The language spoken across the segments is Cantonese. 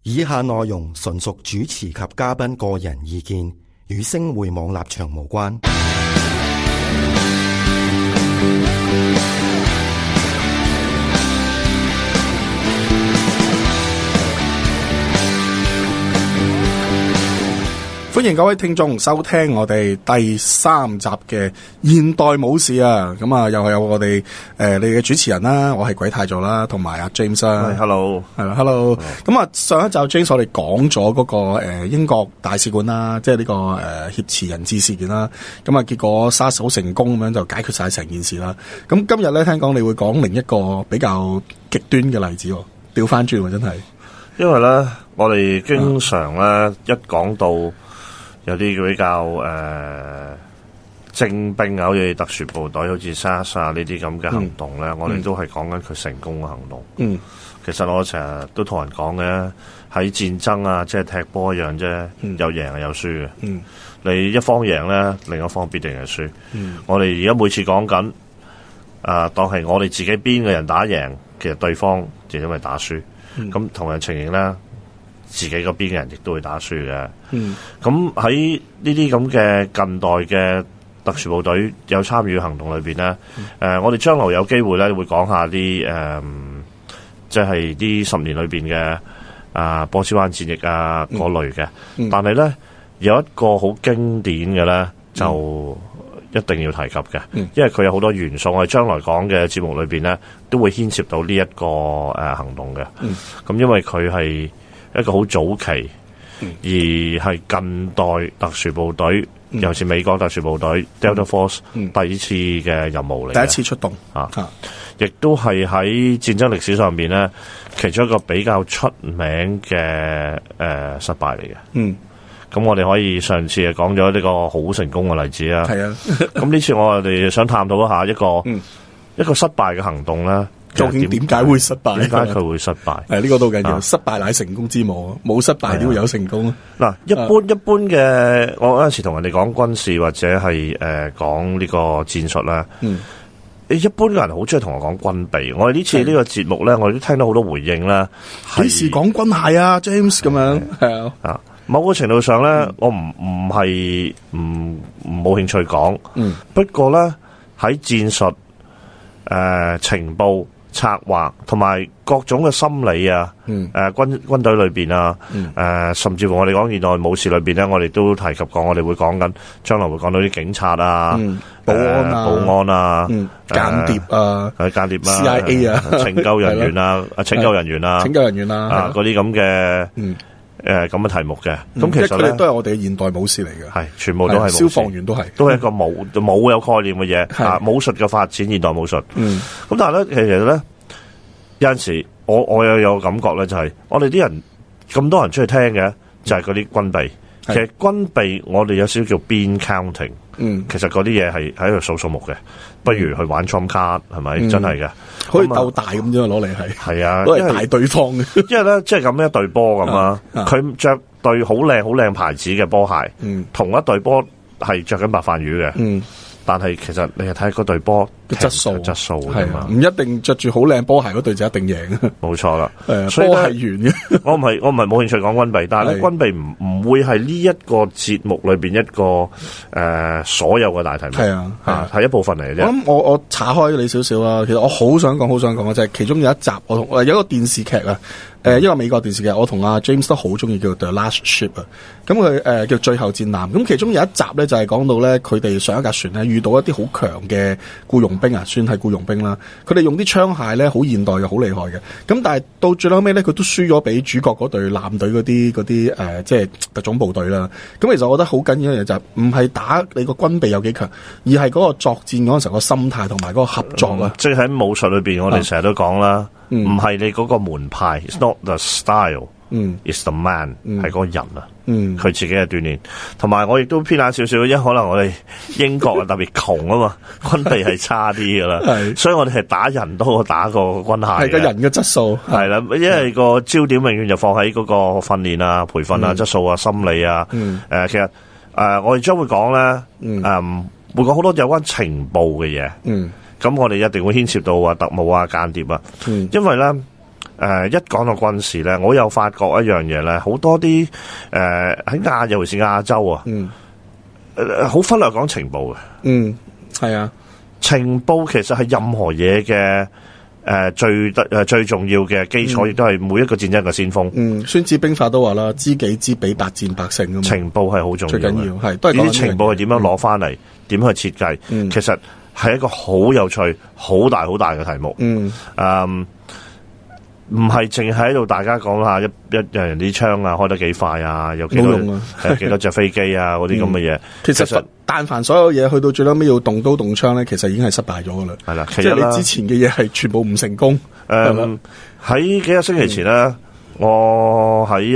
以下內容純屬主持及嘉賓個人意見，與星匯網立場無關。 歡迎各位聽眾收聽我哋第3集嘅現代武士啊！咁啊，又係有我哋你哋嘅主持人啦，我係鬼太座啦，同埋阿 James 啦。 Hello， 係啦 ，Hello。咁啊，上一集 James 我哋講咗嗰個英國大使館啦，即係呢個挾持人質事件啦。咁啊，結果殺手成功咁樣就解決晒成件事啦。咁今日咧，聽講你會講另一個比較極端嘅例子，調翻轉真係。 因為咧，我哋經常咧一講到有啲比較精兵啊，好似特殊部隊，好似 SAS 啊呢啲咁嘅行動咧，我哋都係講緊佢成功嘅行動。其實我成日都同人講嘅，喺戰爭啊，即係踢波一樣啫，有贏係有輸嘅。你一方贏咧，另一方必定係輸。我哋而家每次講緊當係我哋自己邊嘅人打贏，其實對方就因為打輸。咁同樣情形咧，自己嗰邊嘅人亦都會打輸嘅。咁喺呢啲咁嘅近代嘅特殊部隊有參與行動裏邊咧，我哋將來有機會咧會講下啲即係啲10年裏邊嘅波斯灣戰役啊嗰類嘅。但係咧有一個好經典嘅咧就一定要提及嘅，因為佢有好多元素，我哋將來講嘅節目裏邊咧都會牽涉到呢一個行動嘅。咁因為佢係一個好早期，而係近代特殊部隊，尤其是美國特殊部隊 Delta Force 第一次嘅任務嚟，第一次出動亦都係喺戰爭歷史上面咧其中一個比較出名嘅失敗嚟嘅。咁我哋可以上次講咗呢個好成功嘅例子啊。係啊，咁呢次我哋想探討一下一個失敗嘅行動咧。 究竟點解會失敗？ 點解佢會失敗？ 呢個都緊要。失敗乃成功之母，冇失敗點會有成功？ 嗱，一般嘅，我有陣時同人哋講軍事或者係講呢個戰術啦。一般嘅人好中意同我講軍備。我哋呢次呢個節目咧，我哋都聽到好多回應啦。 幾時講軍械啊 ，James 咁樣？係啊。 某個程度上咧，我唔係冇興趣講。不過咧喺戰術、情報、策劃同埋各種嘅心理啊，軍隊裏邊啊，甚至乎我哋講現代武士裏邊咧，我哋都提及過，我哋會講緊將來會講到啲警察啊、保安啊、 間諜啊、CIA 啊、 拯救人員啊、拯救人員啊嗰啲咁嘅咁嘅題目嘅。咁其實咧都係我哋嘅現代武士嚟嘅， 係全部都係消防員，都係一個冇有概念嘅嘢。武術嘅發展，現代武術。咁但係咧，其實咧有陣時我又有感覺咧，就係我哋啲人咁多人出去聽嘅，就係嗰啲軍備。其實軍備我哋有少少叫 bean counting。其實嗰啲嘢係喺度數數目嘅，不如去玩 trump 卡，係咪？真係嘅， 可以鬥大咁樣攞嚟係啊，攞嚟大對方嘅。 因為咧，即係咁一對波咁啊，佢着對好靚牌子嘅波鞋，同一對波係着緊白飯魚嘅。但係其實你係睇嗰對波嘅質素係嘛， 唔一定着住好靚波鞋嗰對就一定贏。冇錯啦， 所以波係圓嘅。 我唔係冇興趣講軍備，但係咧軍備唔會係呢一個節目裏邊一個所有嘅大題目。係一部分嚟嘅啫。 我岔開你少少啦。其實我好想講嘅就係其中有一集，有一個電視劇啊。一個美國電視劇，我同阿 James 都好中意，叫 The Last Ship 啊。咁佢叫最後戰艦。咁其中有一集咧，就係講到咧，佢哋上一架船咧遇到一啲好強嘅僱傭兵啊，算係僱傭兵啦。佢哋用啲槍械咧，好現代嘅，好厲害嘅。咁但係到最後尾咧，佢都輸咗俾主角嗰隊艦隊嗰啲即係特種部隊啦。咁其實我覺得好緊要嘅就係唔係打你個軍備有幾強，而係嗰個作戰嗰陣時候個心態同埋嗰個合作啊。 即係喺武術裏邊，我哋成日都講啦。唔係你嗰個門派 ，it's not the style，it's the man，係嗰個人啊，佢自己嘅鍛煉。同埋我亦都偏袒少少，因為可能我哋英國啊特別窮啊嘛，軍備係差啲噶啦，所以我哋係打人多過打個軍械。係個人嘅質素係啦，因為個焦點永遠就放喺嗰個訓練啊、培訓啊、質素啊、心理啊。其實我哋將會講咧，會講好多有關情報嘅嘢。咁我哋一定會牽涉到特務啊、間諜啊，因為咧一講到軍事咧，我又發覺一樣嘢咧，好多啲喺尤其是亞洲啊，好忽略講情報嘅。 係啊， 情報其實係任何嘢嘅最重要嘅基礎，亦都係每一個戰爭嘅先鋒。 孫子兵法都話啦，知己知彼，百戰百勝啊嘛。 情報係好重要嘅， 最緊要係都係呢啲情報係點樣攞翻嚟，點去設計，其實係一個好有趣、好大嘅題目。唔係淨係喺度大家講下一人啲槍啊開得幾快啊，有幾多幾多隻飛機啊嗰啲咁嘅嘢。其實但凡所有嘢去到最後尾要動刀動槍咧，其實已經係失敗咗噶啦。 係啦， 即係你之前嘅嘢係全部唔成功。 喺幾個星期前咧，我喺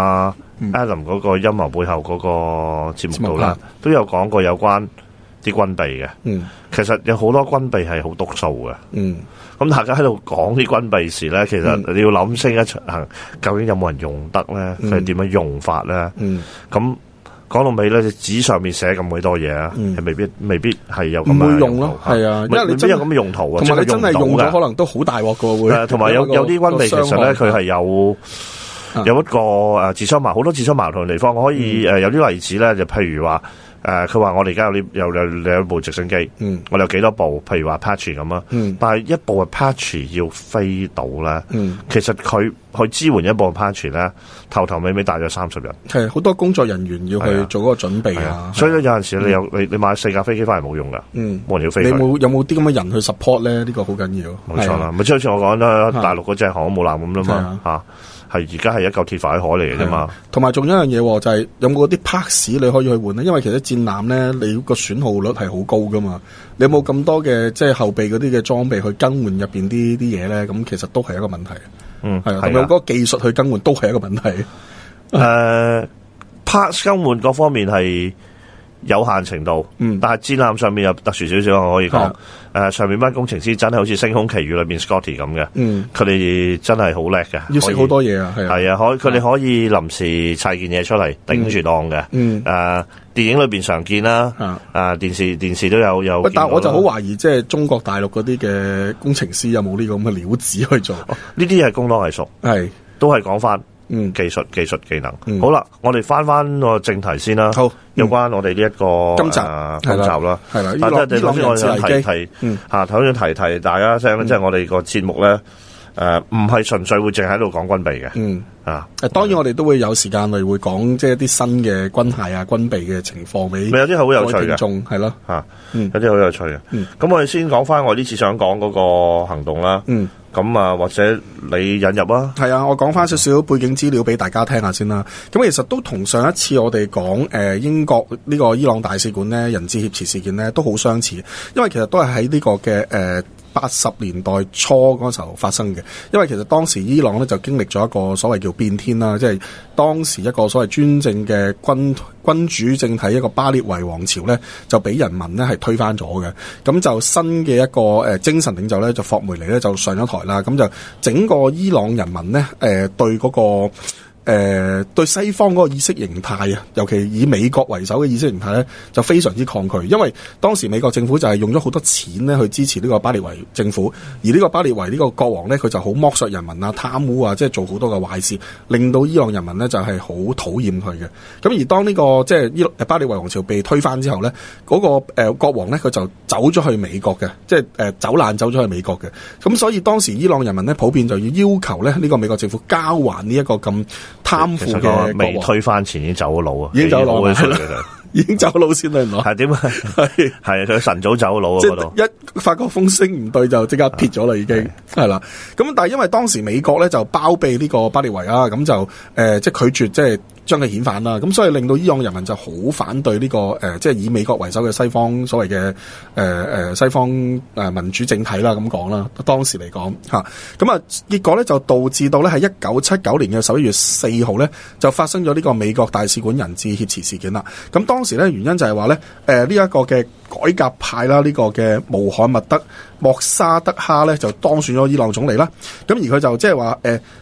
Adam 嗰個陰謀背後嗰個節目度啦，都有講過有關啲軍備嘅。其實有好多軍備係好篤數嘅。咁大家喺度講啲軍備時咧，其實你要諗清一層，究竟有冇人用得咧？佢係點樣用法咧？咁講到尾咧，紙上面寫咁鬼多嘢啊，係未必係有咁樣唔會用咯，係啊，因為你真係有咁嘅用途啊，同埋你真係用咗，可能都好大鑊噶會。同埋有啲軍備其實咧，佢係有一個自相矛好多自相矛盾嘅地方。我可以有啲例子咧，就譬如話。佢話我哋而家有兩部直升機，我哋有幾多部？譬如話 Apache 咁啊，但係一部 Apache 要飛到咧，其實佢去支援一部 Apache 咧，頭尾尾大約30人，係好多工作人員要去做嗰個準備啊。所以咧有陣時你買4架飛機翻嚟冇用噶，冇人要飛。你有冇啲咁嘅人去 support 咧？呢個好緊要。冇錯啦，咪即係好似我講啦，大陸嗰隻航空母艦咁啦嘛嚇。係而家係一嚿鐵塊海嚟嘅啫嘛，同埋仲有一樣嘢就係有冇啲 parts 你可以去換咧？因為其實戰艦咧，你個損耗率係好高噶嘛，你有冇咁多嘅即係後備嗰啲嘅裝備去更換入邊啲嘢咧？咁其實都係一個問題。係啊，同埋有嗰個技術去更換都係一個問題。parts 更換各方面係有限程度，但係戰艦上面有特殊少少，我可以講。上面班工程師真係好似《星空奇遇》裏邊 Scotty 咁嘅，佢哋真係好叻嘅，要識好多嘢啊，係啊，佢哋可以臨時砌件嘢出嚟頂住檔嘅。電影裏邊常見啦，電視都有。但係我就好懷疑，即係中國大陸嗰啲嘅工程師有冇呢個咁嘅料子去做？呢啲係工多藝熟，係都係講翻。技術技能。好啦，我哋翻個正題先啦。好，有關我哋呢一個今集啦，係啦。但係頭先我想提大家聲咧，即係我哋個節目咧，唔係純粹會淨喺度講軍備嘅。當然我哋都會有時間嚟會講即係一啲新嘅軍械啊、軍備嘅情況俾。有啲好有趣嘅，係咯有啲好有趣嘅。咁我哋先講翻我呢次想講嗰個行動啦。咁或者你引入啊？係啊，我講翻少少背景資料俾大家聽下先啦。咁其實都同上一次我哋講英國呢個伊朗大使館咧人質挾持事件咧都好相似，因為其實都係喺呢個嘅80年代初嗰時候發生嘅。因為其實當時伊朗咧就經歷咗一個所謂叫變天啦，即係當時一個所謂專政嘅君主政體一個巴列維王朝咧就俾人民咧係推翻咗嘅。咁就新嘅一個精神領袖咧就霍梅尼咧就上咗台啦。咁就整個伊朗人民咧對嗰個對西方嗰個意識形態啊，尤其以美國為首嘅意識形態咧，就非常之抗拒。因為當時美國政府就係用咗好多錢咧去支持呢個巴列維政府，而呢個巴列維呢個國王咧，佢就好剝削人民啊、貪污啊，即係做好多嘅壞事，令到伊朗人民咧就係好討厭佢嘅。咁而當呢個即係巴列維王朝被推翻之後咧，嗰個國王咧佢就走咗去美國嘅，即係走咗去美國嘅。咁所以當時伊朗人民咧普遍就要求咧呢個美國政府交還呢一個咁貪腐嘅國王。未推翻前已經走咗佬啊，已經走佬嘅已經走佬先啦，原來係點啊？係佢晨早走佬啊，嗰度一發覺風聲唔對就即刻撇咗啦，已經係啦。咁但係因為當時美國咧就包庇呢個巴列維啊，咁就即係拒絕即係將佢遣返啦。咁所以令到伊朗人民就好反對呢個即係以美國為首嘅西方所謂嘅西方民主政體啦，咁講啦。當時嚟講嚇，咁啊結果咧就導致到咧喺1979年嘅11月4號咧就發生咗呢個美國大使館人質挾持事件啦。咁當時咧原因就係話咧呢一個嘅改革派啦，呢個嘅穆罕默德莫沙德哈咧就當選咗伊朗總理啦。咁而佢就即係話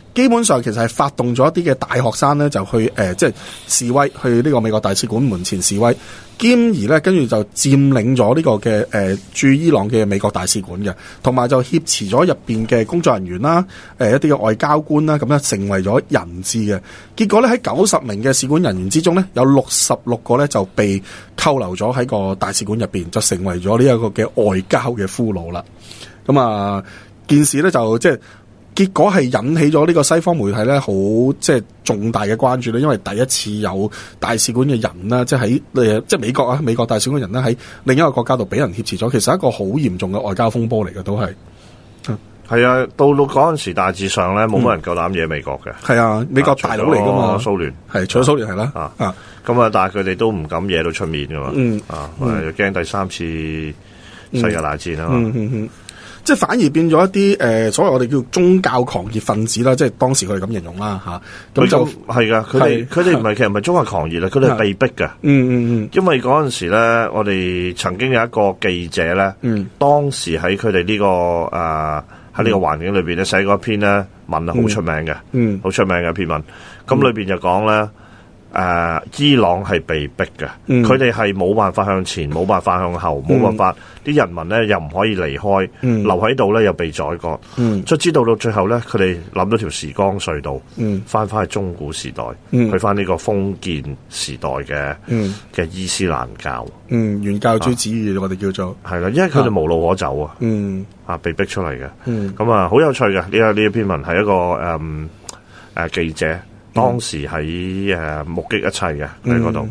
基本上其實係發動咗一啲嘅大學生咧，就去即係示威，去呢個美國大使館門前示威，兼而咧跟住就佔領咗呢個嘅駐伊朗嘅美國大使館嘅，同埋就挾持咗入邊嘅工作人員啦，一啲嘅外交官啦，咁咧成為咗人質嘅。結果咧喺90名嘅使館人員之中咧，有66個咧就被扣留咗喺個大使館入邊，就成為咗呢一個嘅外交嘅俘虜啦。咁啊，件事咧就即係。結果係引起咗呢個西方媒體咧，好即係重大嘅關注咧，因為第一次有大使館嘅人啦，即係喺即係美國啊，美國大使館人咧喺另一個國家度俾人挾持咗，其實係一個好嚴重嘅外交風波嚟嘅，都係。 係啊，到嗰陣時大致上咧，冇乜人夠膽惹美國嘅。 係啊，美國大佬嚟噶嘛， 蘇聯係除咗蘇聯係啦。 咁啊，但係佢哋都唔敢惹到出面噶嘛。又驚第三次世界大戰啊嘛。 即係反而變咗一啲所謂我哋叫宗教狂熱分子啦，即係當時佢哋咁形容啦嚇。咁就係噶，佢哋唔係其實唔係宗教狂熱啦，佢哋係被逼嘅。因為嗰陣時咧，我哋曾經有一個記者咧，當時喺佢哋呢個喺呢個環境裏邊咧寫過一篇咧文啊，好出名嘅，好出名嘅一篇文。咁裏邊就講咧。伊朗係被逼嘅，佢哋係冇辦法向前，冇辦法向後，冇辦法，啲人民咧又唔可以離開，留喺度咧又被宰割，卒之到最後咧，佢哋諗到條時光隧道，翻去中古時代，去翻呢個封建時代嘅伊斯蘭教， 原教旨主義我哋叫做係啦，因為佢哋無路可走啊，被逼出嚟嘅，咁啊好有趣嘅呢一篇文係一個記者。當時喺目擊一切嘅喺嗰度，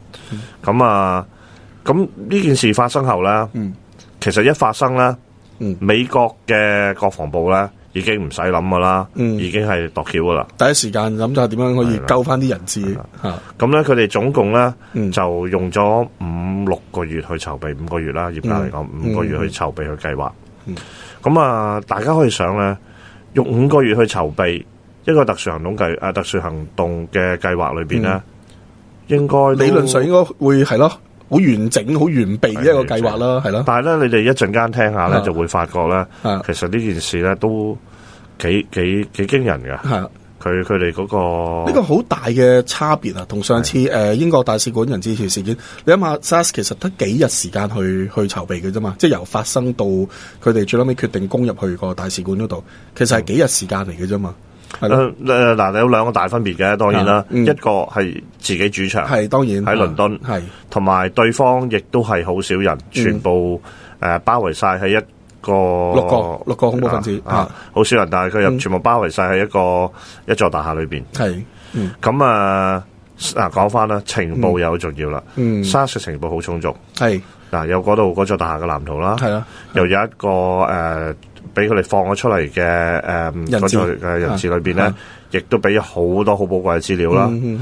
咁呢件事發生後咧，其實一發生咧，美國嘅國防部咧已經唔使諗噶啦，已經係度橋噶啦。 第一時間諗就係點樣可以救翻啲人質嚇。 咁咧，佢哋總共咧就用咗5-6個月去籌備，5個月啦，業界嚟講5個月去籌備去計劃。咁啊，大家可以想咧，用5個月去籌備。一個特殊行動嘅計劃裏邊咧，應該理論上應該會係咯，好完整、好完備嘅一個計劃啦，係咯。 但係咧，你哋一陣間聽下咧，就會發覺咧，其實呢件事咧都幾驚人嘅。係佢哋嗰個呢個好大嘅差別啊，同上次英國大使館人質條事件，你諗下 SARS 其實得幾日時間去籌備嘅啫嘛，即係由發生到佢哋最後尾決定攻入去個大使館嗰度，其實係幾日時間嚟嘅啫嘛。 嗱，有2個大分別嘅，當然啦，一個係自己主場， 係當然喺倫敦，係同埋對方亦都係好少人，全部包圍晒喺一個 6個恐怖分子好少人，但係佢又全部包圍晒喺一座大廈裏邊，係咁講翻啦，情報又好重要啦，SARS 嘅情報好充足，係有嗰座大廈嘅藍圖啦，係啦，又有一個俾佢哋放咗出嚟嘅嗰座嘅人質裏邊咧，亦都俾咗好多好寶貴嘅資料啦。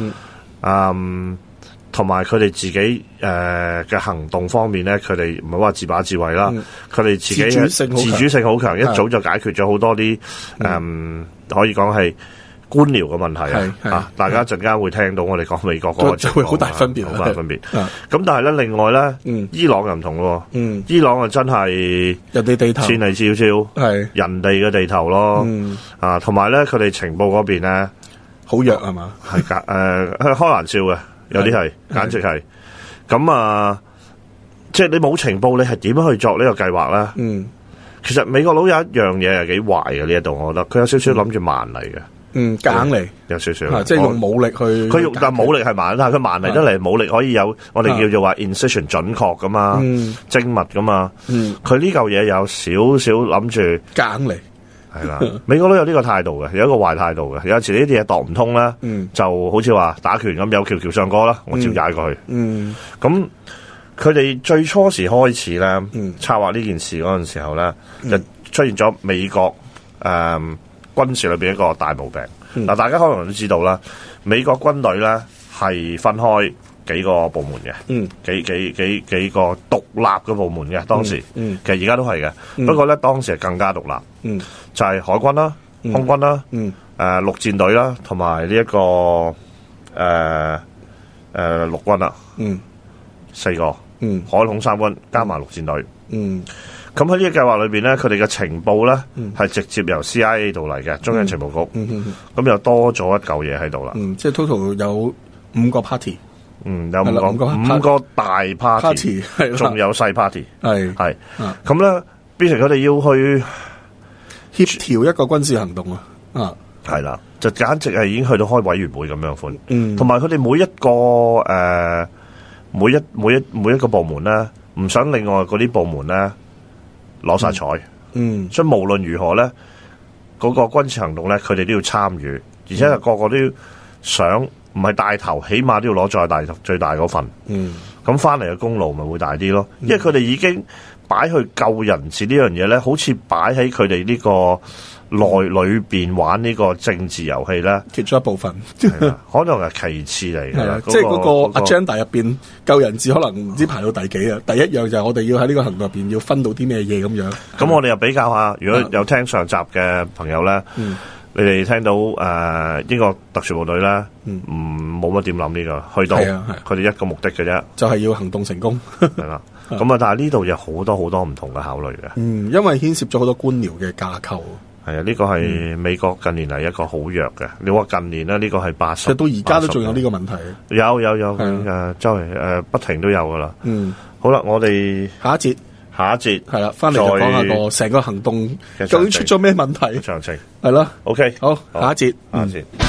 同埋佢哋自己嘅行動方面咧，佢哋唔係話自把自為啦，佢哋自己自主性好強，一早就解決咗好多啲可以講係官僚嘅問題啊！大家陣間會聽到我哋講美國嗰個情況， 會好大分別， 好大分別。咁但係咧，另外咧，伊朗又唔同咯。伊朗啊，真係人哋地頭， 千里迢迢，係人哋嘅地頭咯。同埋咧，佢哋情報嗰邊咧， 好弱係嘛？ 係開玩笑嘅，有啲係，簡直係。咁即係你冇情報，你係點樣去作呢個計劃咧？其實美國佬有一樣嘢係幾壞嘅呢一度，我覺得佢有少少諗住慢嚟嘅。 夾硬嚟， 有少少， 即係用武力去。 佢用但武力係慢，但係佢慢嚟得嚟，武力可以有我哋叫做話 incision 準確噶嘛，精密噶嘛。佢呢嚿嘢有少少諗住夾硬嚟， 係啦。美國都有呢個態度嘅，有一個壞態度嘅。有時呢啲嘢度唔通咧，就好似話打拳咁，有橋橋上過啦，我照踩過去。咁佢哋最初時開始咧，策劃呢件事嗰陣時候咧，就出現咗美國軍事裏邊一個大毛病。嗱，大家可能都知道啦，美國軍隊咧係分開幾個部門嘅，幾個獨立嘅部門嘅。當時，其實而家都係嘅，不過咧當時係更加獨立，就係海軍啦、空軍啦、陸戰隊啦，同埋呢一個陸軍啦，4個，海空三軍加埋陸戰隊。 咁喺呢個計劃裏邊咧，佢哋嘅情報咧係直接由 CIA 度嚟嘅，中央情報局。咁又多咗一嚿嘢喺度啦。 即係 total 有5個 party。 有五個大 party， 仲有細 party。係。咁咧，變成佢哋要去協調一個軍事行動啊。 係啦，就簡直係已經去到開委員會咁樣款。同埋佢哋每一個每一個部門咧，唔想另外嗰啲部門咧攞晒彩。所以無論如何咧，嗰個軍事行動咧，佢哋都要參與，而且係個個都要想，唔係帶頭，起碼都要攞最大嗰份。咁翻嚟嘅功勞咪會大啲咯。因為佢哋已經擺去救人質呢樣嘢咧，好似擺喺佢哋呢個裏邊玩呢個政治遊戲咧，其中一部分，可能係其次嚟嘅。 即係嗰個 agenda 入邊救人質，可能唔知排到第幾啊？第一樣就係我哋要喺呢個行動入邊要分到啲咩嘢咁樣。 咁我哋又比較下，如果有聽上集嘅朋友咧，你哋聽到英國特殊部隊咧，冇乜點諗呢個，去到佢哋一個目的嘅啫， 就係要行動成功。 係啦，咁啊，但係呢度有好多好多唔同嘅考慮嘅。 因為牽涉咗好多官僚嘅架構。 係啊，呢個係美國近年嚟一個好弱嘅。你話近年咧，呢個係80， 其實到而家都仲有呢個問題。 有周圍不停都有噶啦。好啦，我哋下一節係啦，翻嚟就講下個成個行動究竟出咗咩問題？ 詳情係啦。 OK， 好，下一節。